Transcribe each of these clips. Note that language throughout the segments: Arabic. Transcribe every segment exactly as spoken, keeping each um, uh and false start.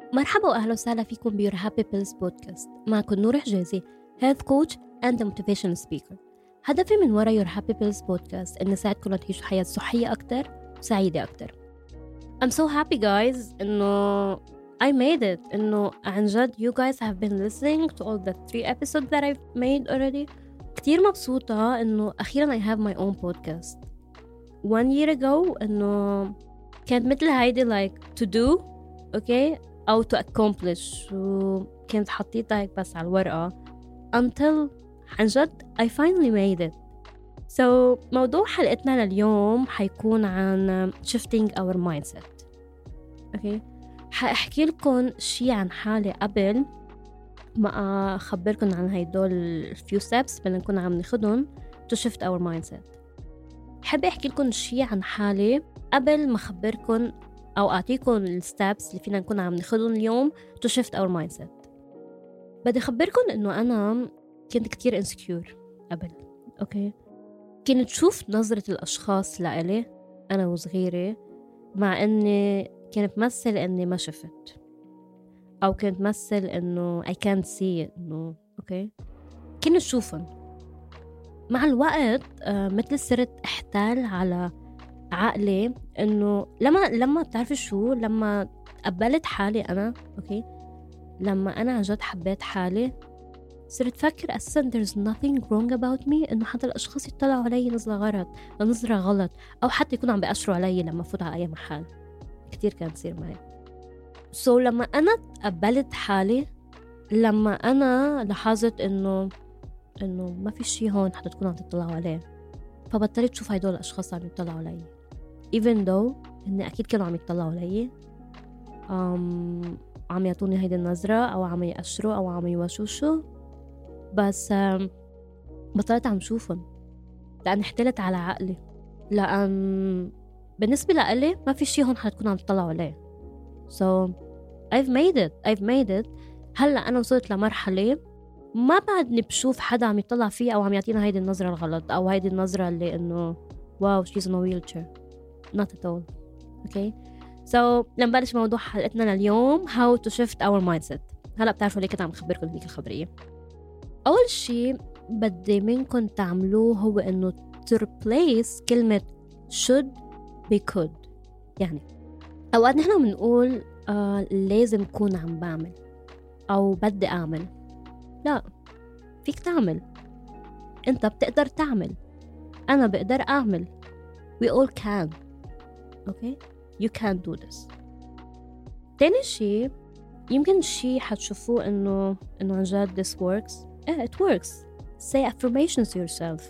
مرحبا وأهلا وسهلا فيكم بيور هابي بيلز بودكاست. معكم نور حجازي health coach and a motivational speaker. هدفي من وراء يور هابي بيلز بودكاست إن أساعدكم تعيشوا حياة صحية أكتر وسعيدة أكتر. I'm so happy guys إنه I made it. إنه عن جد you guys have been listening to all the three episodes that I've made already. كتير مبسوطة إنه أخيرا I have my own podcast. One year ago إنه كانت مثل هيدي like to do okay أو to accomplish وكنت حطيتها هيك بس على الورقة until عن جد I finally made it. So موضوع حلقتنا لليوم حيكون عن shifting our mindset. okay حأحكي لكم شي عن حالي قبل ما أخبركم عن هيدول few steps بدنا نكون عم ناخدهم to shift our mindset. حب أحكي لكم شي عن حالي قبل ما أخبركم أو أعطيكم الستابس اللي فينا نكون عم ناخدهم اليوم to shift our mindset. بدي أخبركم إنه أنا كنت كتير insecure قبل. أوكي كنت شوف نظرة الأشخاص لإلي أنا وصغيرة، مع إني كنت مثل إني ما شفت أو كنت مثل إنه I can't see it إنه أوكي كنت شوفن. مع الوقت آه مثل صرت أحتال على عقلي إنه لما لما بتعرفي شو لما قبلت حالي أنا أوكي لما أنا عن جد حبيت حالي صرت فكر أساساً there's nothing wrong about me، إنه حتى الأشخاص يطلعوا علي نظرة غلط أو نظرة غلط أو حتى يكونوا عم بيأشروا علي لما فوت على أي محل. كتير كان يصير معي. so لما أنا قبلت حالي، لما أنا لاحظت إنه إنه ما في شيء هون حتى تكونوا عم تطلعوا عليه، فبطلت شوف هيدول الأشخاص عم يطلعوا علي even though إن أكيد كانوا عم يطلعوا علي um, عم يعطوني هيدي النظرة أو عم يأشروا أو عم يوشوشوا، بس um, بطلت عم شوفهم لأن احتلت على عقلي، لأن بالنسبة لألي ما في شيء هون حتكونوا عم تطلعوا عليه. so I've made it I've made it هلأ أنا وصلت لمرحلة ما بعدني بشوف حدا عم يطلع فيه أو عم يعطينا هيدي النظرة الغلط أو هيدي النظرة اللي إنه واو she's in a wheelchair. not at all. okay so لنبلش موضوع حلقتنا لليوم how to shift our mindset. هلأ بتعرفوا ليه كنت عم خبركم هيك الخبرية. أول شيء بدي منكم تعملوه هو إنه to replace كلمة should be could. يعني أوقات نحن بنقول آه لازم كون عم بعمل أو بدي أعمل. لا، فيك تعمل، أنت بتقدر تعمل، أنا بقدر أعمل. we all can. okay you can do this. تاني شيء يمكن شيء حتشوفوه إنه إنه عن جد this works. yeah it works. say affirmations to yourself.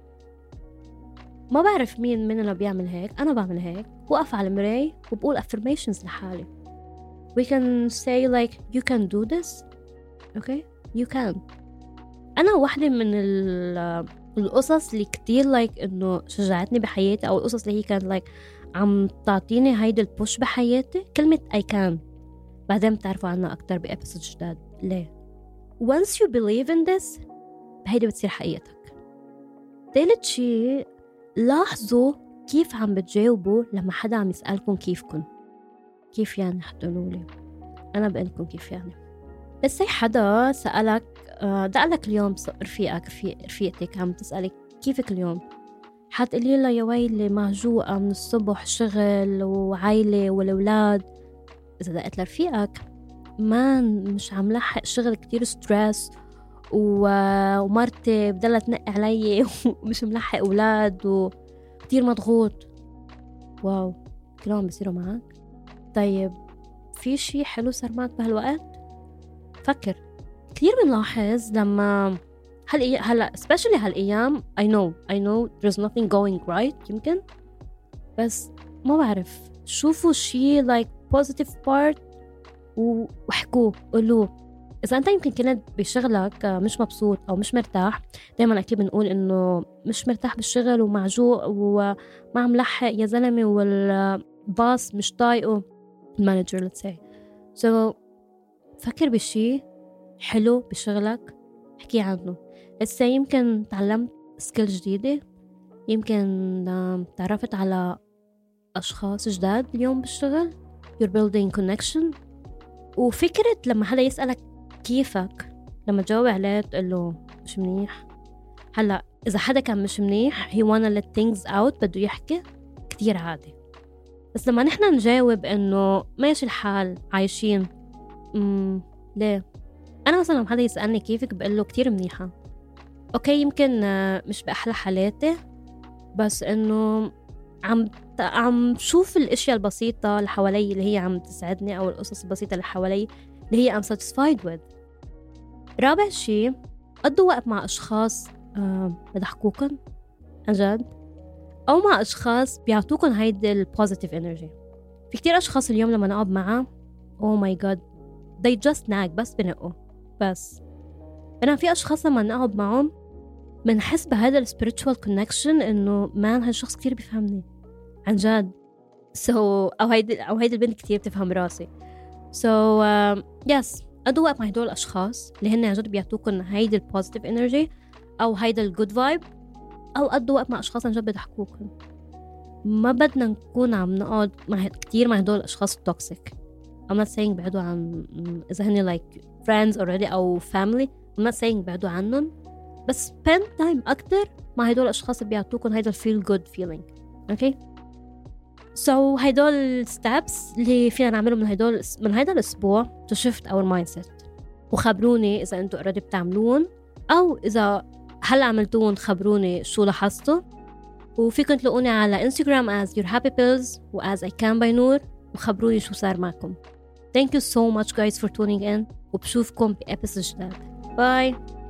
ما بعرف مين مننا بيعمل هيك، أنا بعمل هيك، وقف على المراية وبقول affirmations لحالي. we can say like you can do this. okay you can. أنا واحدة من القصص اللي كتير like إنه شجعتني بحياتي أو القصص اللي هي كانت like عم تعطيني هيدا البوش بحياتي كلمة I can. بعدين بتعرفوا عنها أكتر بإبسود جداد. ليه؟ once you believe in this هيدا بتصير حقيقتك. ثالث شيء لاحظوا كيف عم بتجاوبوا لما حدا عم يسألكم كيفكن. كيف يعني حتقولولي؟ أنا بقلكم كيف يعني. بس هي حدا سألك دقلك اليوم رفيقك رفيقتك عم تسألك كيفك اليوم، حتقولي لها يا ويلي معجوقة من الصبح شغل وعائلة والأولاد. إذا دقت لرفيقك ما مش عم لحق شغل كتير ستريس ومرتي بدلها تنقي علي ومش ملحق أولاد وكتير مضغوط. واو كلهم بيصيروا معك. طيب في شي حلو صار معك بهالوقت؟ فكر. كتير بنلاحظ لما هل هلا especially هالأيام I know I know there's nothing going right يمكن، بس ما بعرف شوفوا شي like positive part وحكوه قولوه. إذا أنت يمكن كنت بشغلك مش مبسوط أو مش مرتاح، دايما أكيد بنقول إنه مش مرتاح بالشغل ومعجوق وما عم لحق يا زلمة والباص مش طايقه المانجر let's say. so فكر بشي حلو بشغلك احكي عنه. let's say يمكن تعلمت سكيل جديدة، يمكن تعرفت على أشخاص جداد اليوم بالشغل you're building connection. وفكرة لما حدا يسألك كيفك لما تجاوب عليه تقول له مش منيح. هلا إذا حدا كان مش منيح he wanna let things out بده يحكي كتير عادي. بس لما نحنا نجاوب إنه ماشي الحال عايشين مم ليه؟ أنا مثلا لما حدا يسألني كيفك بقول له كتير منيحة. أوكي يمكن مش بأحلى حالاتي بس إنه عم عم شوف الأشياء البسيطة اللي حوالي اللي هي عم تسعدني أو القصص البسيطة اللي حوالي اللي هي I'm satisfied with. رابع شيء قضوا وقت مع أشخاص أه بضحكوكن عن جد أو مع أشخاص بيعطوكن هيدا البوزيتيف إنرجي. في كتير أشخاص اليوم لما نقعد معها oh my god they just nag بس بنقوا بس. أنا في أشخاص لما نقعد معهم منحس بهذا ال spiritual connection إنه مان هالشخص كتير بيفهمني عن جد. so أو هيدا أو هيدا البنت كتير بتفهم راسي. so uh, yes قضوا وقت مع هدول الأشخاص اللي هن عن جد بيعطوكن هيدا البوزيتيف إنرجي أو هيدا الجود فايب أو قضوا وقت مع أشخاص عن جد بيضحكوكن. ما بدنا نكون عم نقعد مع كتير مع هدول الأشخاص التوكسيك. I'm not saying بعدوا عن إذا هن like friends already أو family. I'm not saying بعدوا عنهم بس spend time أكتر مع هدول الأشخاص اللي بيعطوكن هيدا feel good feeling. okay so هدول steps اللي فينا نعملهم من هدول من هيدا الأسبوع to shift our mindset. وخبروني إذا أنتوا already بتعملون أو إذا هلا عملتون خبروني شو لاحظتوا. وفيكن تلاقوني على Instagram as your happy pills و as I can by نور وخبروني شو صار معكم. Thank you so much guys for tuning in وبشوفكم بإبسود جديد. باي.